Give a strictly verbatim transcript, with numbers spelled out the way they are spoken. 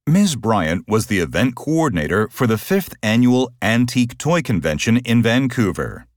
Miz Bryant was the event coordinator for the fifth Annual Antique Toy Convention in Vancouver.